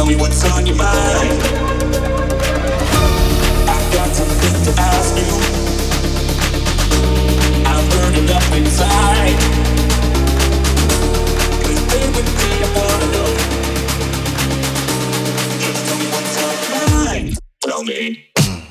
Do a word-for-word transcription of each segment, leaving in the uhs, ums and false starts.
tell me what's on your mind. I've got something to ask you. I'm burning up inside. Please stay with me, I wanna know. Just tell me what's on your mind. Tell me.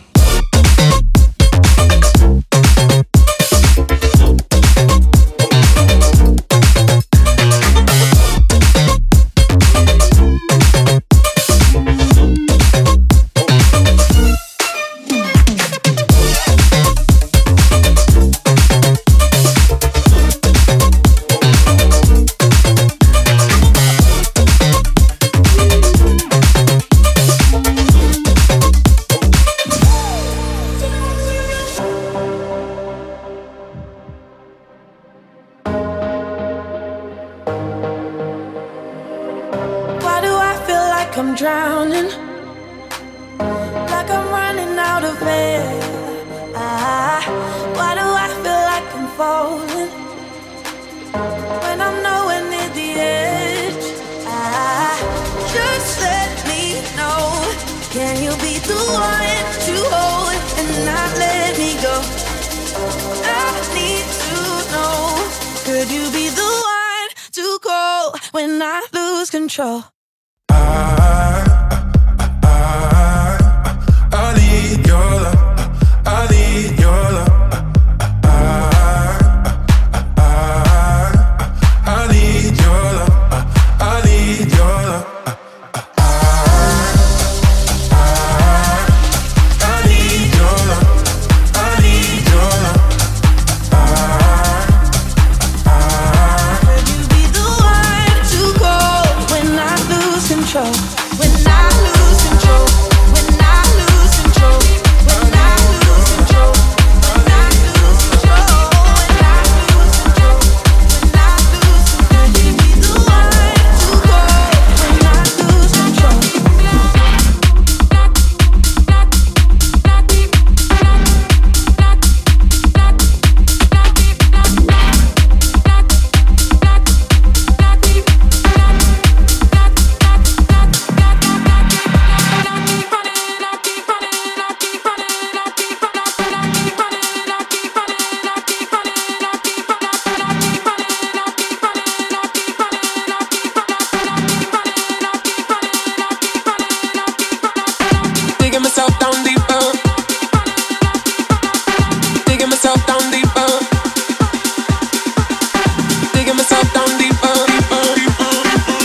I'm drowning, like I'm running out of air. Ah, why do I feel like I'm falling when I'm nowhere near the edge? Ah, just let me know. Can you be the one to hold and not let me go? I need to know. Could you be the one to call when I lose control? I need your love. I need your love. I, I, I need your love. I need your love. I need your love. I need your love. Could you be the one to call when I lose control? When I lose control. When I lose control. When I lose control. When I lose control. When I lose control. When I lose control. Could you be the one to call when I lose control? Digging myself down deeper. Digging myself down deeper. Digging myself down deeper, deeper, deeper.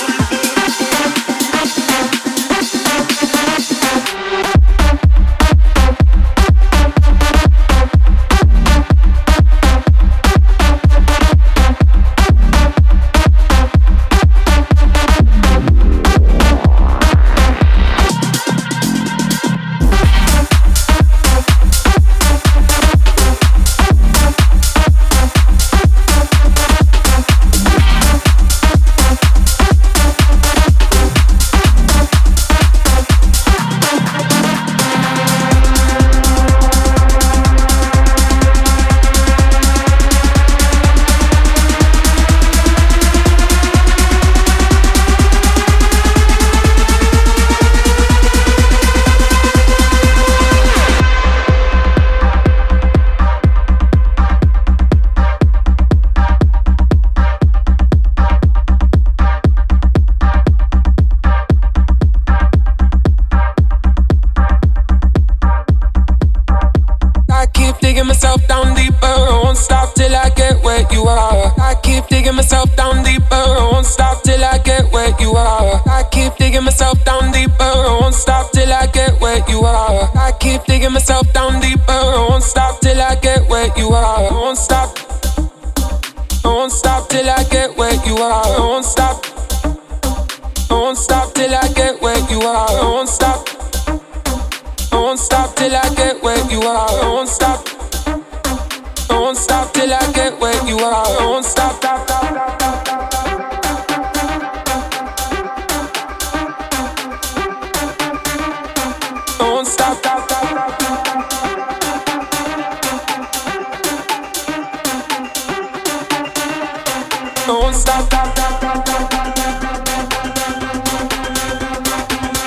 Digging myself down deeper, I won't stop till I get where you are. I keep digging myself down deeper, I won't stop till I get where you are. I keep digging myself down deeper, I won't stop till I get where you are. I keep digging myself down deeper, I won't stop till I get where you are. I won't stop. I won't stop till I get where you are. I won't stop. I won't stop till I get where you are. I won't stop. I won't stop till I get where you are. I won't stop. I won't stop till I get where you are. I won't stop. stop, stop, stop, stop. I won't stop. stop, stop, stop, stop. I won't stop. stop, stop, stop, stop.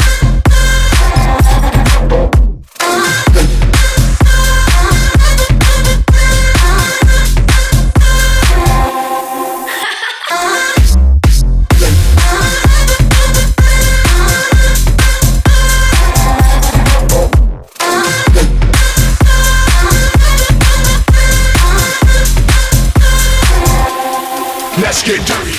Let's get dirty.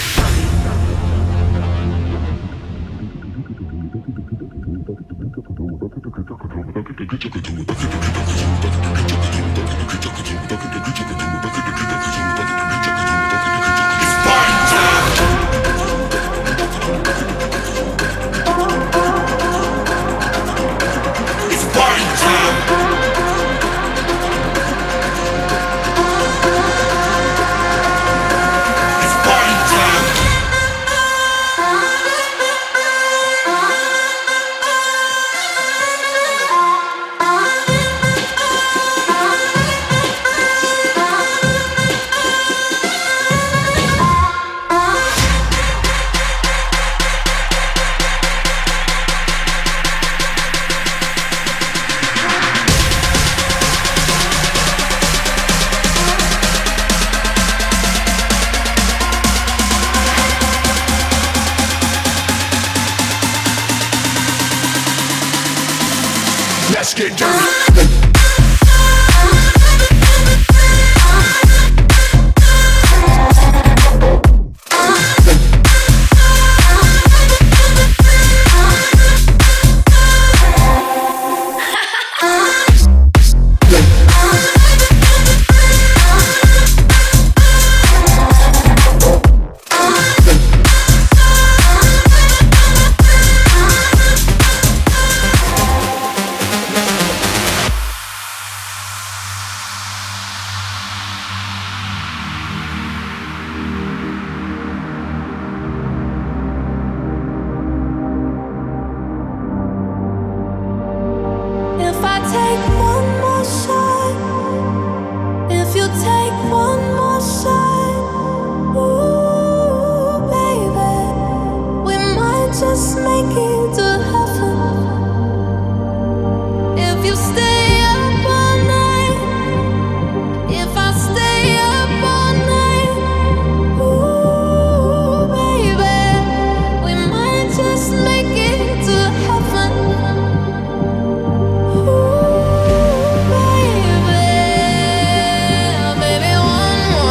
Let's get dirty. take one more shot. Ooh, baby, we might just make it to heaven. If you stay up all night, if I stay up all night, ooh, baby, we might just make it to heaven. Ooh, baby, baby, one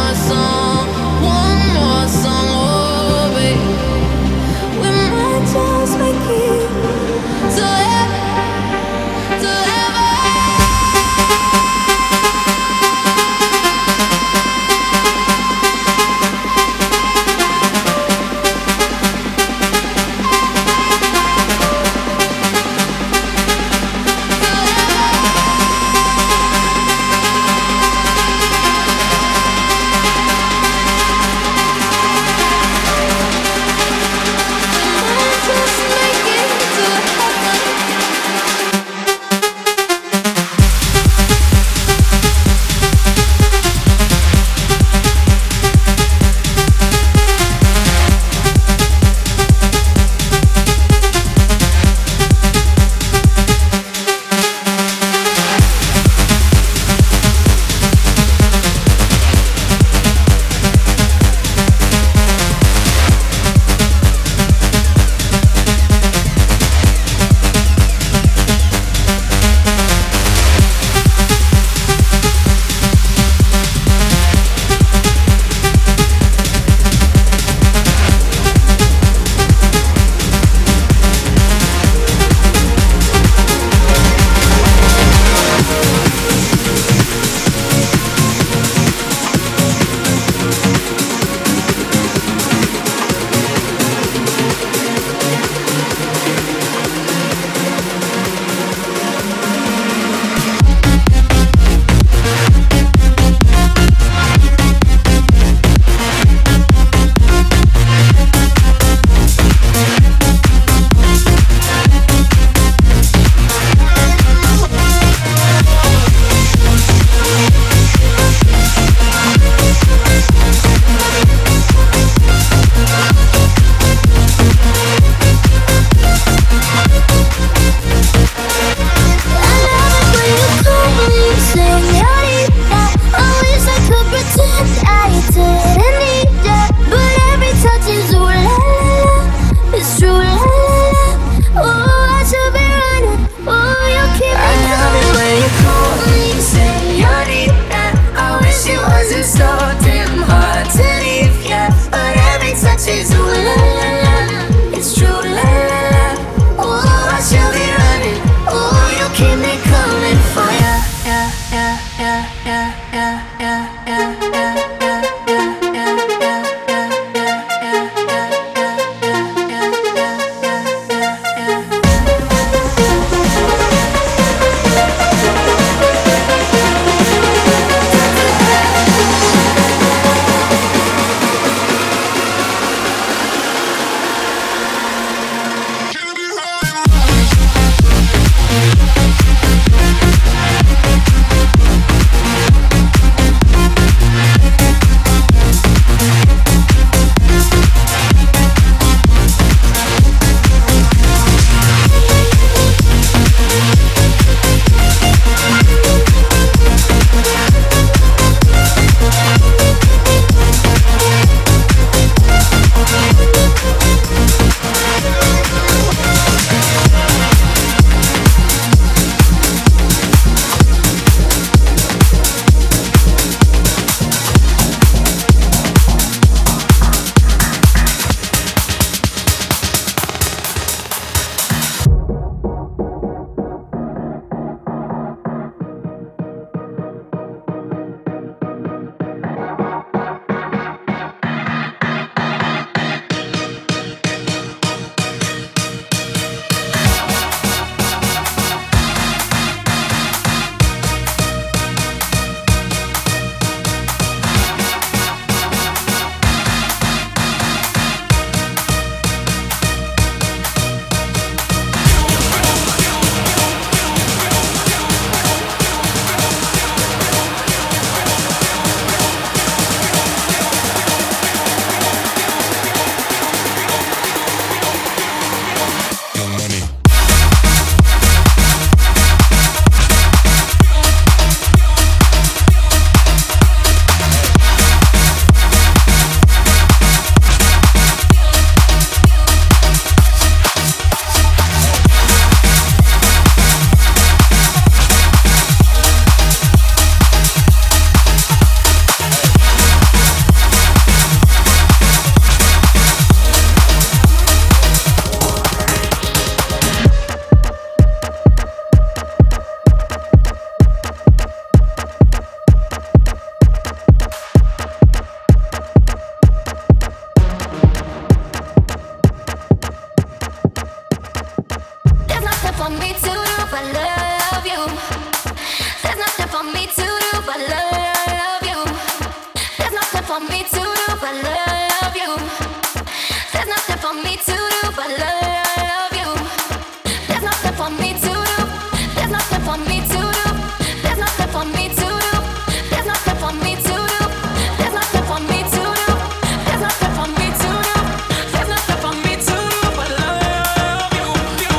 for me to do but love you. There's nothing for me to do but love you. There's nothing for me to do. There's nothing for me to do. There's nothing for me to do. There's nothing for me to do. There's nothing for me to do. There's nothing for me to do. There's nothing for me to do but love you.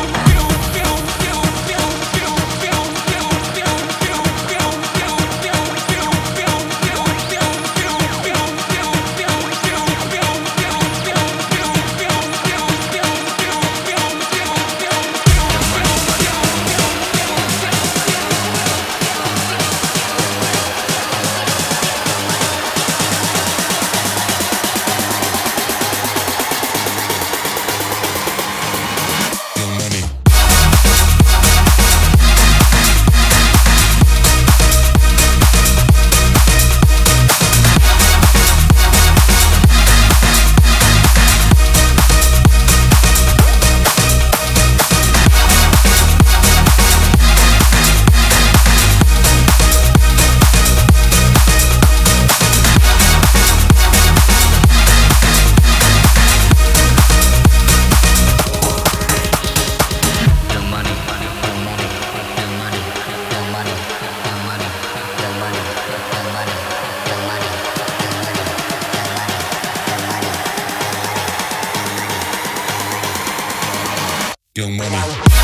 Young Money.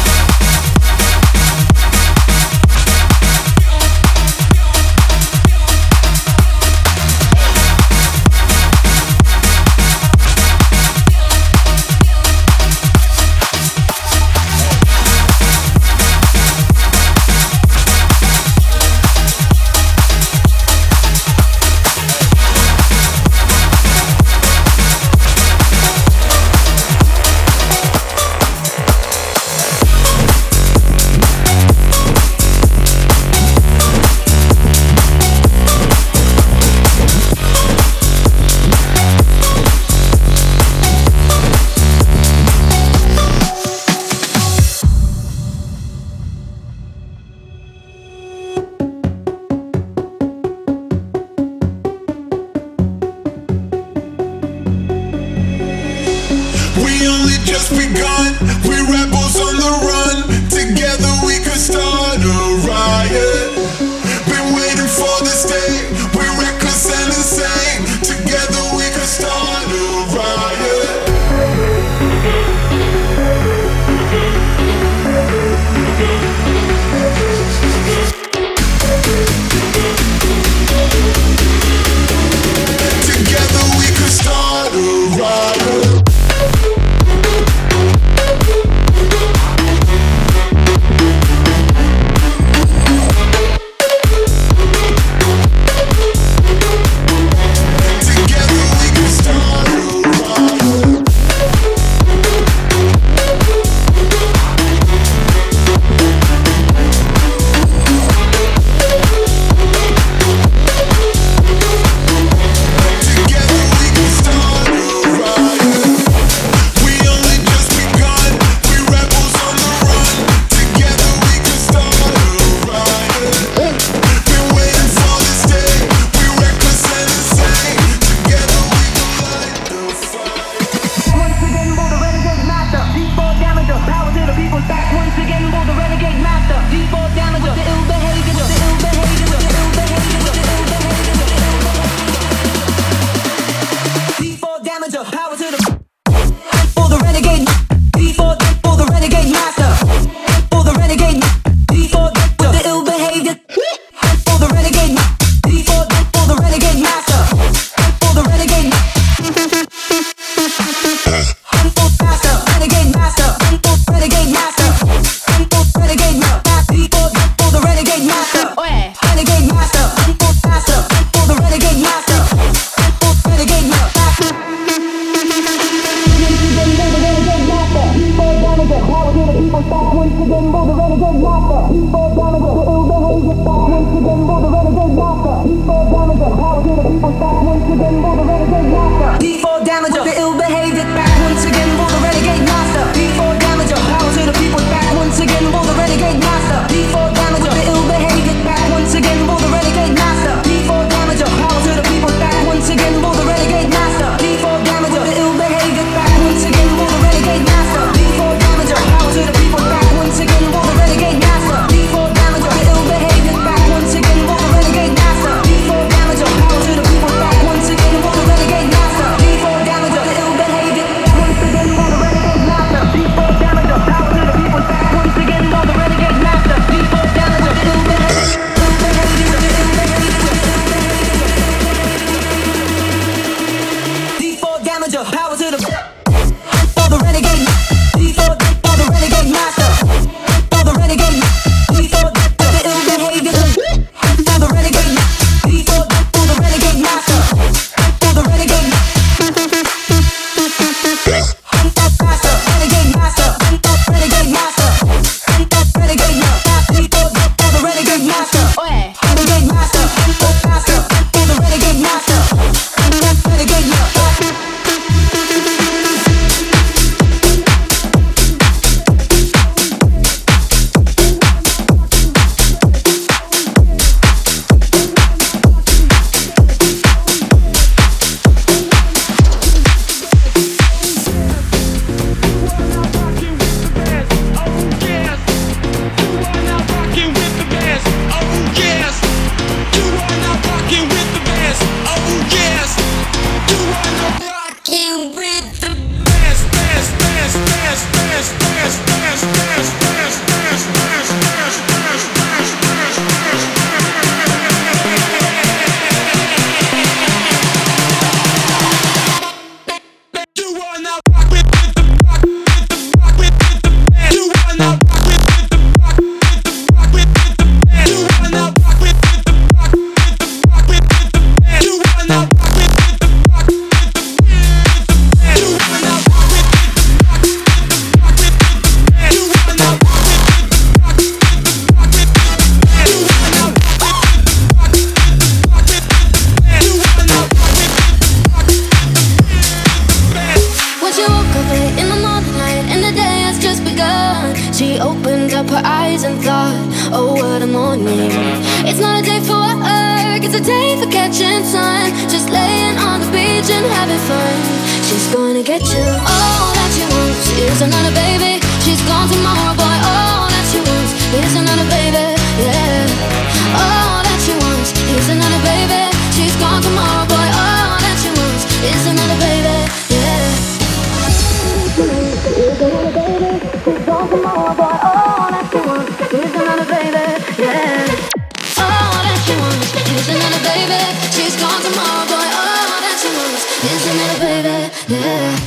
We only just begun. We rebels on the run. Together we could start a riot. Been waiting for this day. We're reckless and insane. Together we could start a riot. Together we could start a riot. wasting time, just laying on the beach and having fun. She's gonna get you. All that she wants is another baby. She's gone tomorrow, boy. All that she wants is another baby. Yeah. All that she wants is another baby. She's gone tomorrow, boy. All that she wants is another baby. Yeah. Is another baby. She's gone tomorrow, boy. All that she wants is another baby. Yeah. All that she wants is another baby. She's gone tomorrow, boy. All that she wants is another baby. Yeah.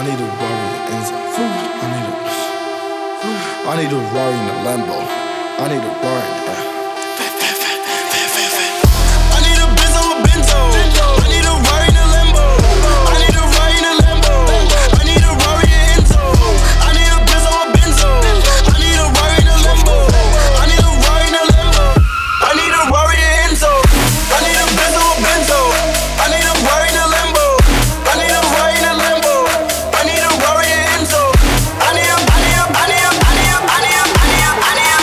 need a Rari in Enzo. I need a. I need a Rari in a Lambo. I need a Rari. Yeah. I need a Benz or a Benzo. I need a Rari in a Lambo. I need a Rari in a Lambo. I need a Rari in Enzo. I need a Benz or a Benzo. I need a Rari in a Lambo. I need a Rari in a Lambo. I need a Rari in Enzo. I need a Benz or a Benzo. I need a Rari in a Lambo. I need a Rari in a Lambo. I need a Rari in Enzo. I need a, I need a, I need a, I need a, I need a, I need a, I need a,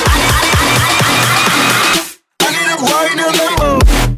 I need a Rari in a Lambo.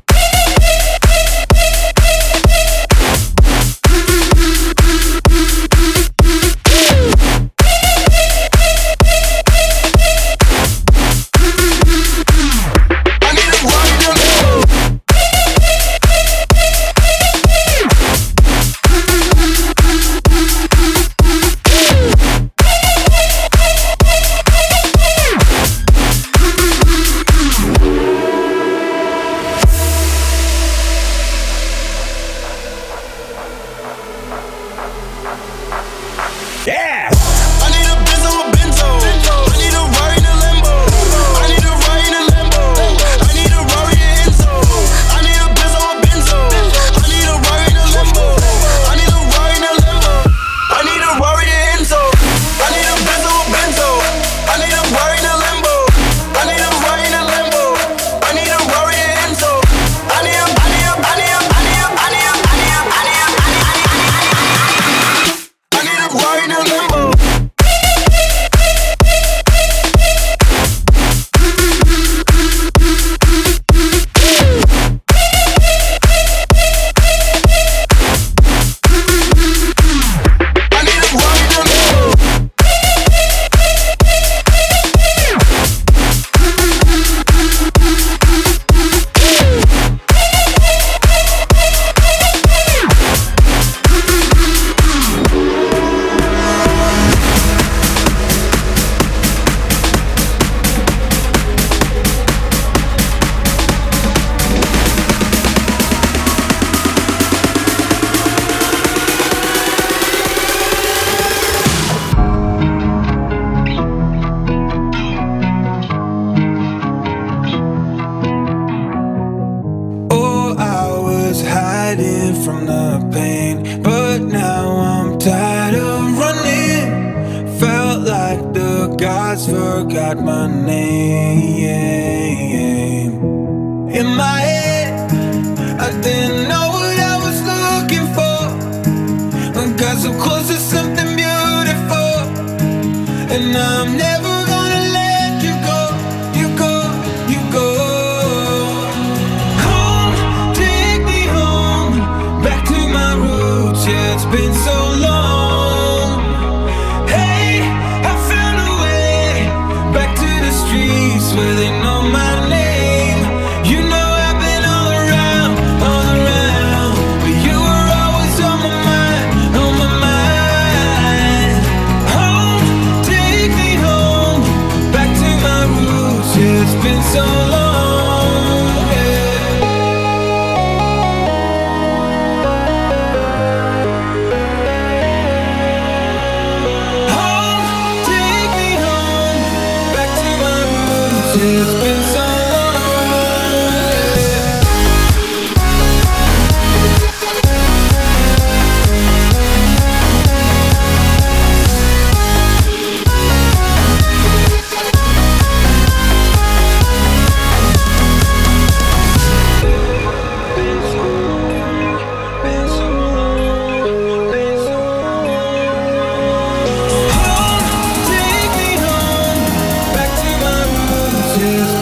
From the pain, but now I'm tired of running. Felt like the gods forgot my name. In my head, I didn't know what I was looking for. I got so close to something beautiful, and I'm never gonna let you go. You go, you go. Yeah, it's been so long. Hey, I found a way back to the streets where they know my name. You know I've been all around, all around, but you were always on my mind, on my mind. Home, take me home, back to my roots. Yeah, it's been so long. It's been so Take me home, back to my roots.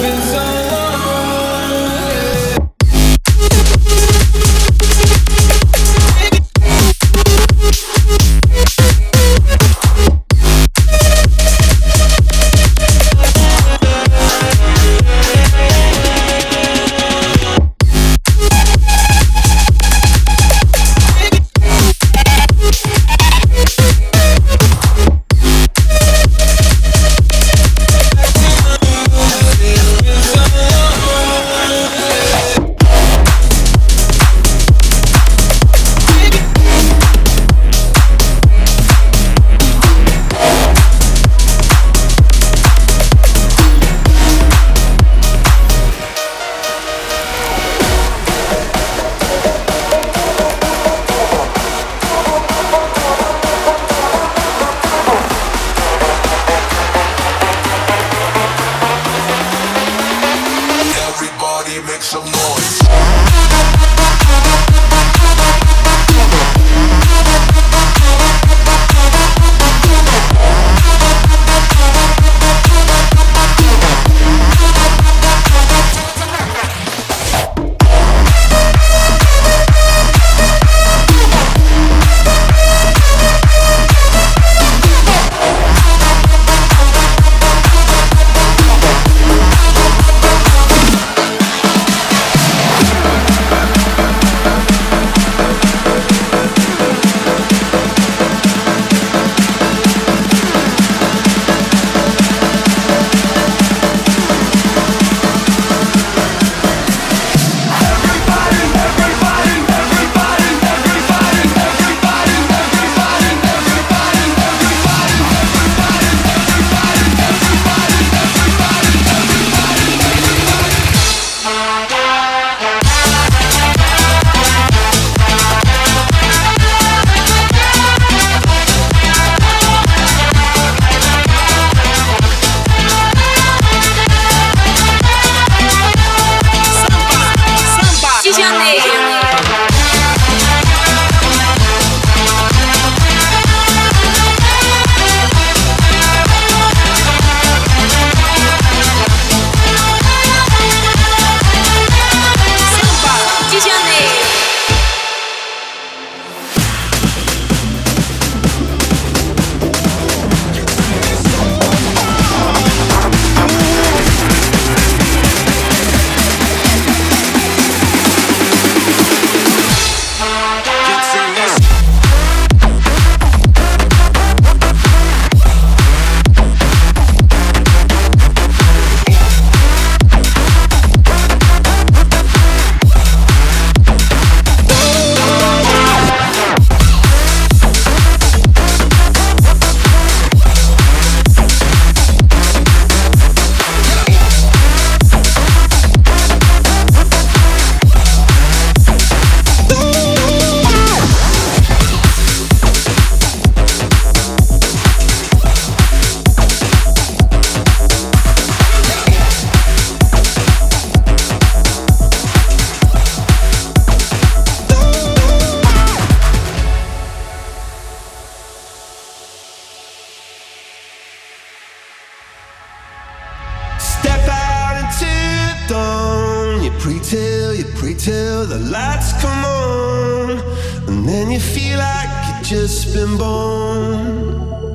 dawn. You pray till, you pray till the lights come on, and then you feel like you've just been born.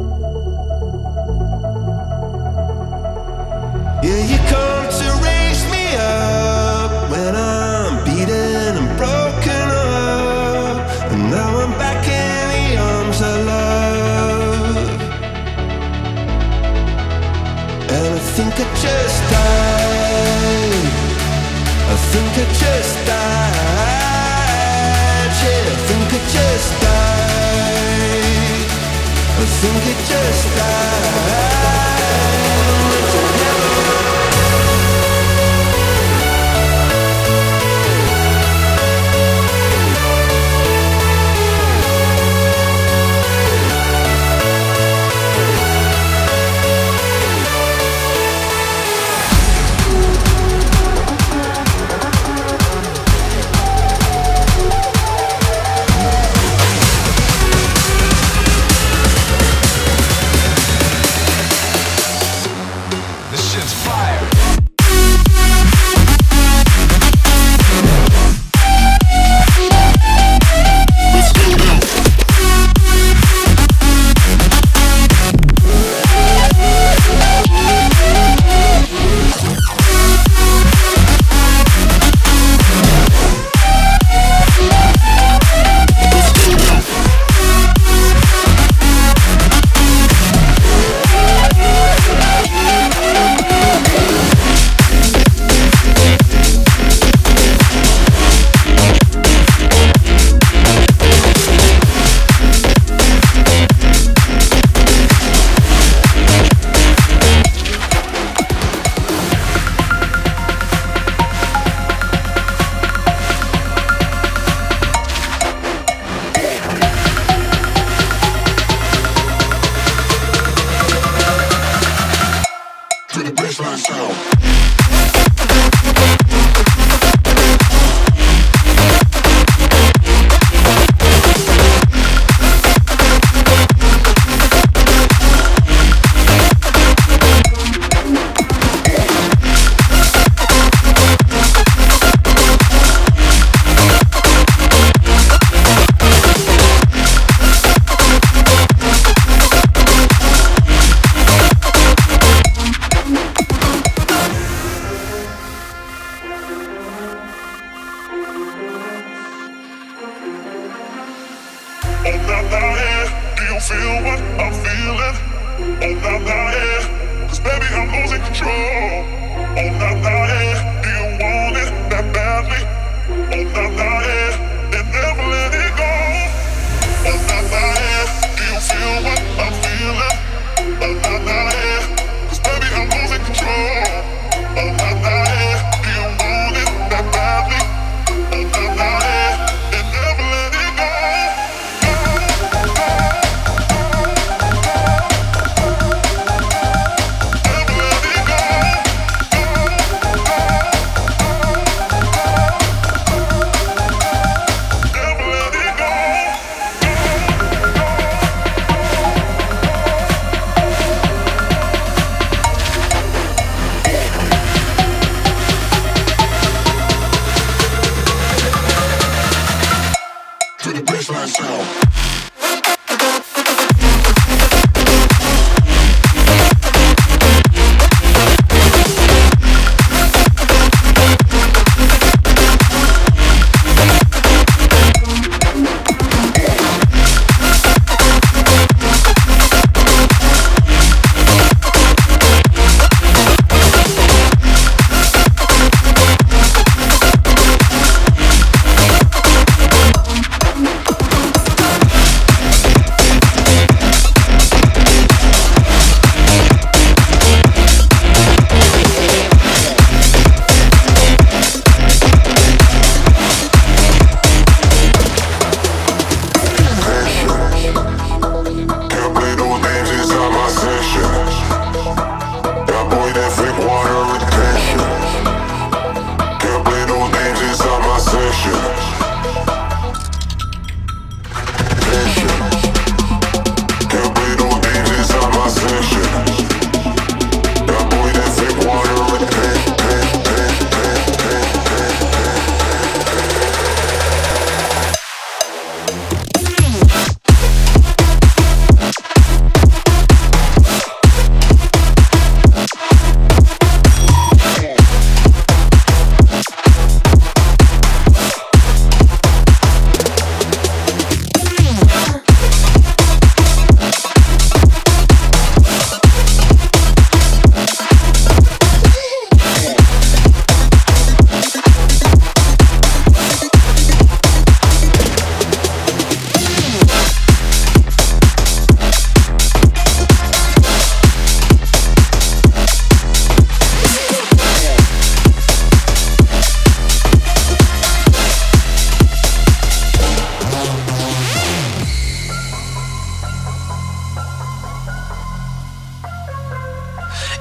Yeah, you come to raise me up when I'm beaten and broken up, and now I'm back in the arms of love. And I think I just died, I think I just died, yeah, I think I just died, I think I just died.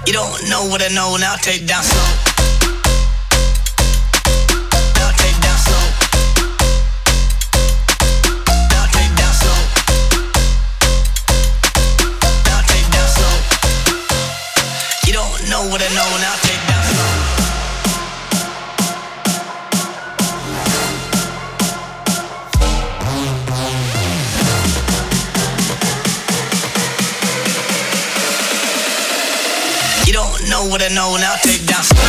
You don't know what I know, now take down slow. Now take down slow. Now take down slow. Now take down slow. You don't know what I know, now take down slow. You don't know what I know, now take down slow.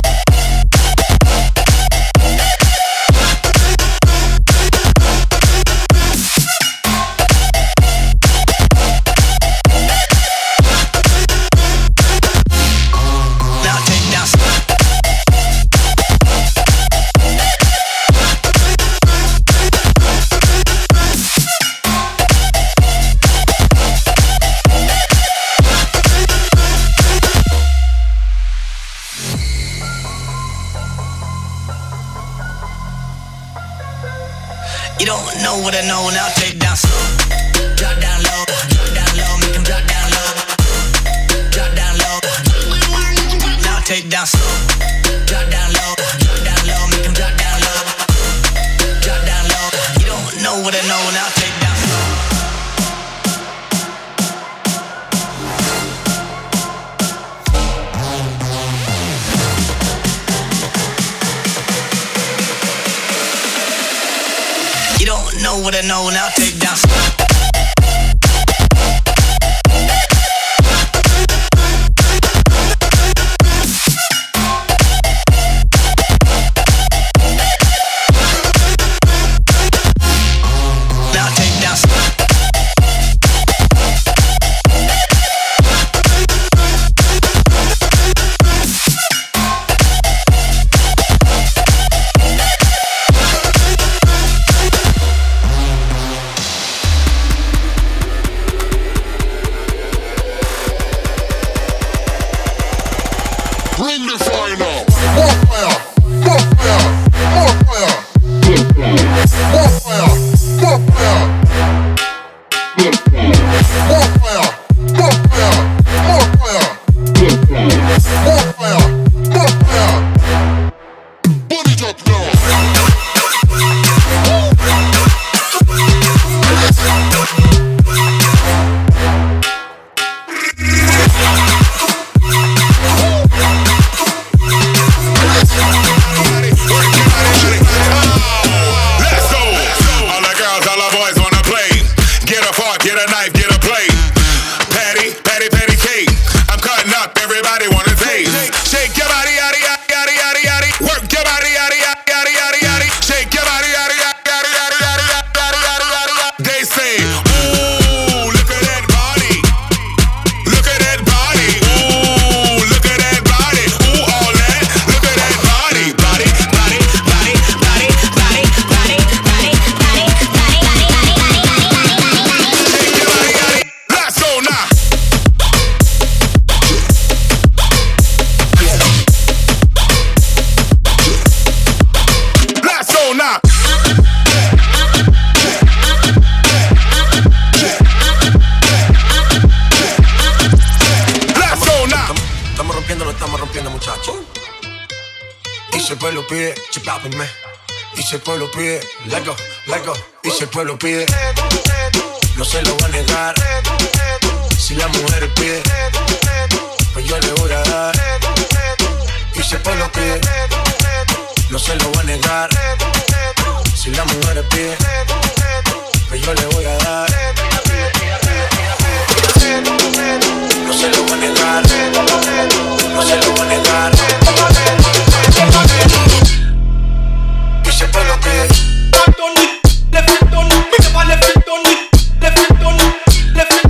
You don't know what I know, now take down slow. Drop down low, drop down low, make 'em drop down low. Drop down low, now take down slow. Drop down low, drop down low, make 'em drop down low. Drop down low, you don't know what I know, now take down slow. You don't know what I know, now take down slow. Now take down slow. Bring the fire now. More fire, more fire, more fire. More fire, more fire. More fire, more fire, more fire. More fire, more fire. Put it up now. Y si el pueblo pide, let go, let go. Y si el pueblo pide, no se lo va a negar. Si la mujer pide, pues yo le voy a dar. Y si el pueblo pide, no se lo va a negar. Si la mujer pide, pues yo le voy a dar. No se lo va a negar. No se lo va a negar. Y si el pueblo pide, le faltó ni, le faltó ni, le faltó ni, le faltó ni, le faltó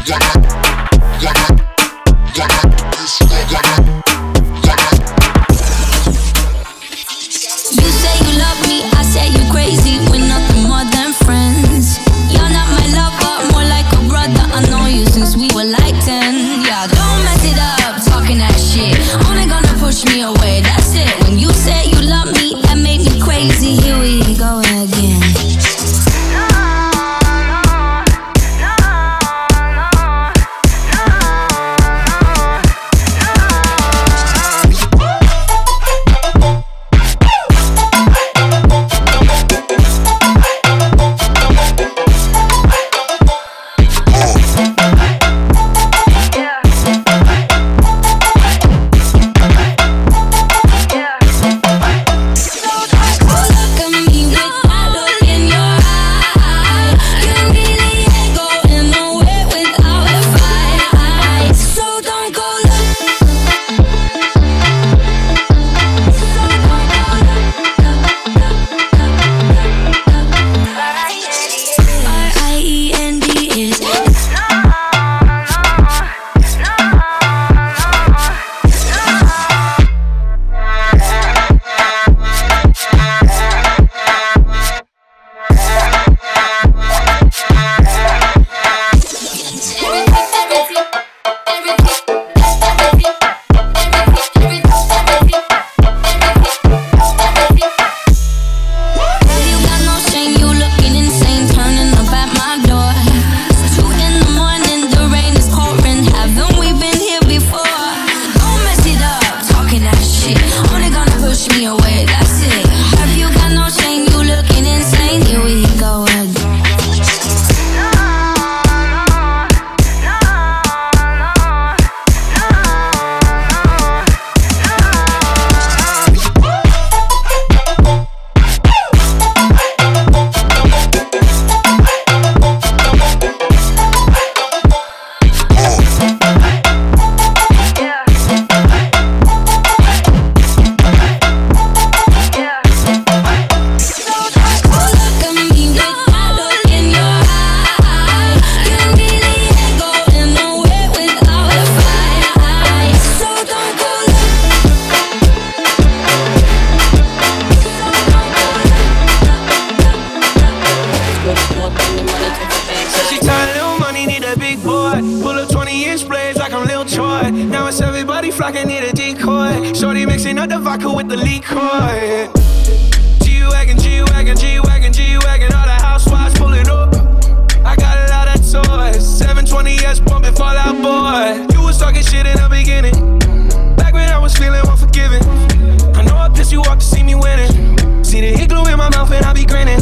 flocking, need a decoy. Shorty mixing up the vodka with the liquor. G-Wagon, G-Wagon, G-Wagon, G-Wagon. All the housewives pulling up. I got a lot of toys. seven twenty S pumping Fall Out Boy. You was talking shit in the beginning. Back when I was feeling unforgiving. I know I pissed you off to see me winning. See the hit glue in my mouth and I be grinning.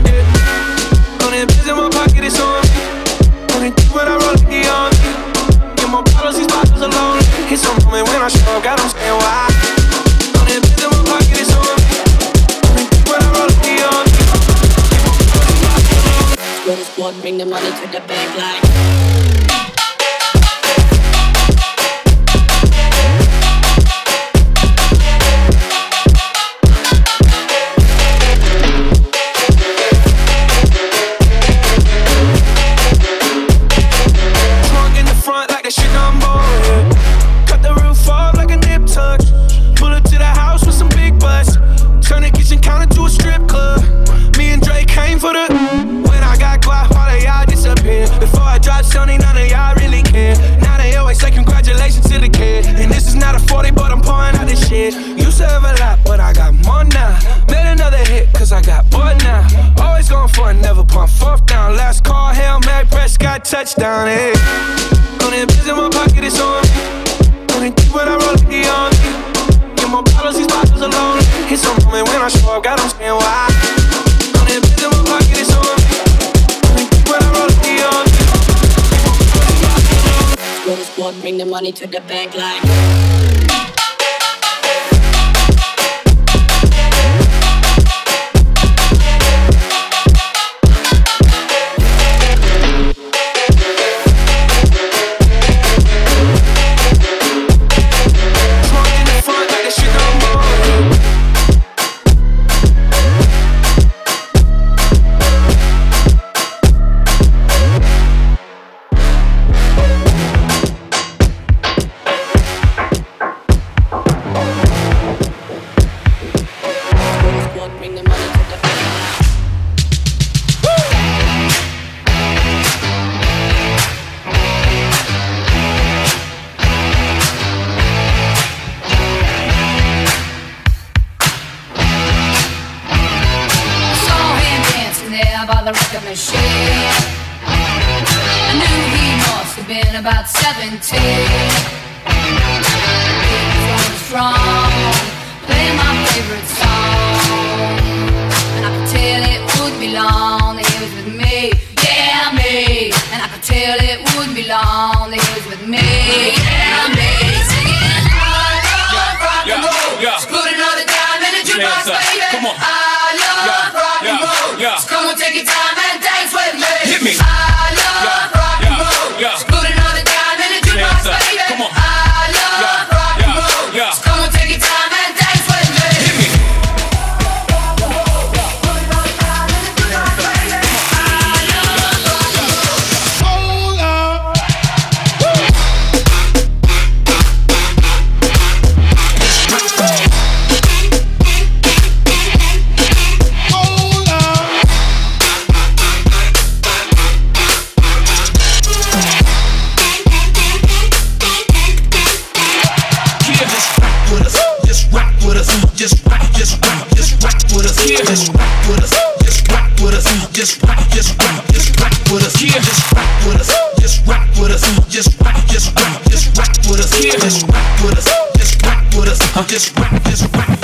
Yeah. On that biz in my pocket, it's on me. On it deep when I roll it, on me. Get more bottles, these bottles alone. It's a moment when I show up, God, I'm saying why. On that biz in my pocket, it's on me. On it deep when I roll it, on me. Go to squad, bring the money to the bank like. Used to have a lot, but I got more now. Made another hit, cause I got bored now. Always going for it, never pump fourth down. Last call, Hail Mary, Prescott, touchdown, hey. On that biz in my pocket, it's on me. On it deep when I roll it, on me. Get more bottles, these bottles alone. It's a moment when I show up, God, I'm saying why. On that biz in my pocket, it's on me. On it deep when I roll it, on me. Go to squad, bring the money to the bank like. been about seventeen. Going strong, playing my favorite song, and I could tell it wouldn't be long that he was with me, yeah me. And I could tell it wouldn't be long that he was with me, yeah me. Singing I love rock and roll, just put another dime in the jukebox, baby. Come on. I love rock and roll, so come on, take your time and dance with me. Hit me. I love rock and roll, just put another dime in the jukebox, baby. Come on. I love rock and roll, so come on, take your time and dance with me. Hit me. Just rock, just rock, just rock with us. Yeah. Just rock with us. Just rock with us. Just rock, just rock, just rock with us. Yeah. Just rock with us. Just rock with us. Just rock, just rock, just rock with us. Yeah. Just rock with us. Just rock with us. Just rock, just rock.